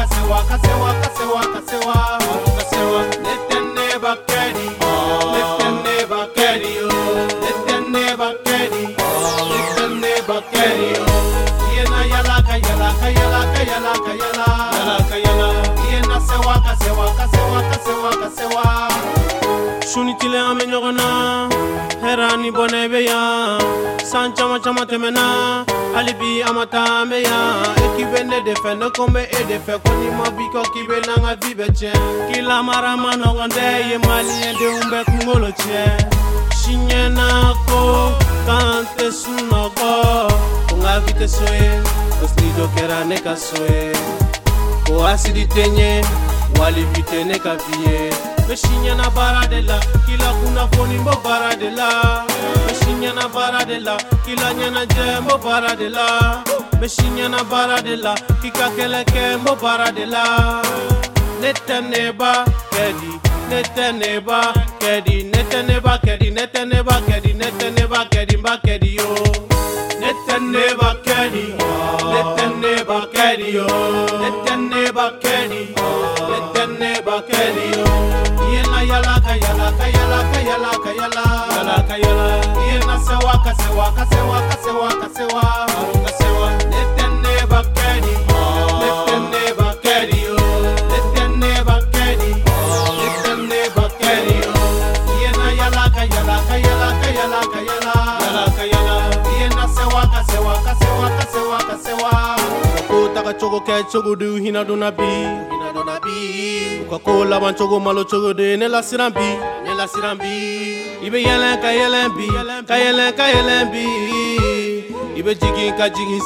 kasewa kasewa kasewa kasewa kasewa netene bakedi netene bakedi netene bakedi netene bakedi yena yala kayala kayala kayala kayala yala kayala yena sewa kasewa kasewa kasewa kasewa sunitile amenyogona herani bonebeya san chama chama temena alibi amata meya ekibene defende kombe e defe koni mobiko kibena nga vibeche kila mara manonde ye malien de umbe kungolo che shinyena ko kante sunogo kunga vite soe oslido kera neka soe ko asidi tenye wali vite neka vie meshinya na baradela kila kuna foni mbo baradela meshinya na baradela kila nyana jembo baradela meshinya na baradela kika keleke mbo baradela netaneba kedi netaneba kedi netaneba kedi netaneba kedi netaneba kedi mbakedi yo netaneba kedi netaneba kedi yo netaneba kedi netaneba kedi yo yena yala kayala kayala kayala kayala yala kayala yena sewa kasewa kasewa kasewa kasewa kasewa netene bakedi netene bakedi netene bakedi netene bakedi yena yala kayala kayala kayala kayala yala kayala yena sewa kasewa kasewa kasewa kasewa ko taka chogo ke chogo du hina do nabi Coca-Cola manchogo malo chogo de ne la sirambi ibe yelen ka yelen bi ibe jigin ka jigin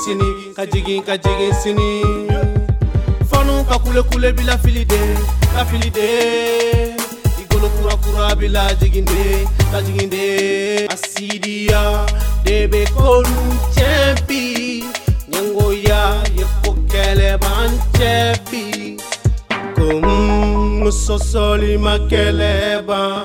sini fanu ka kule bila filide igolo kura bila jiginde asidia debe kolu champi nyango ya yekokele banchepi sosoli makeleba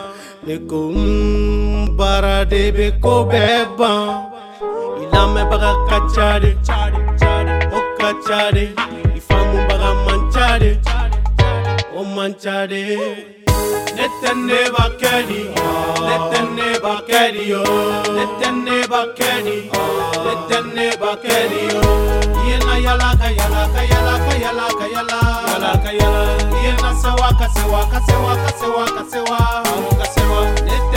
bara be ko beba ilame baga kachade o kachade ifamu baga manchade o manchade netene bakedi yo netene bakedi yo yena yala kayala kayala kayala kayala yala kayala yena sewa kasewa kasewa kasewa kasewa kasewa